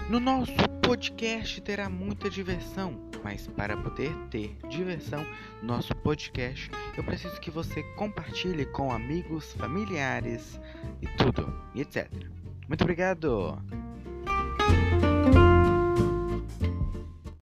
No nosso podcast terá muita diversão, mas para poder ter diversão no nosso podcast, eu preciso que você compartilhe com amigos, familiares e tudo, e etc. Muito obrigado!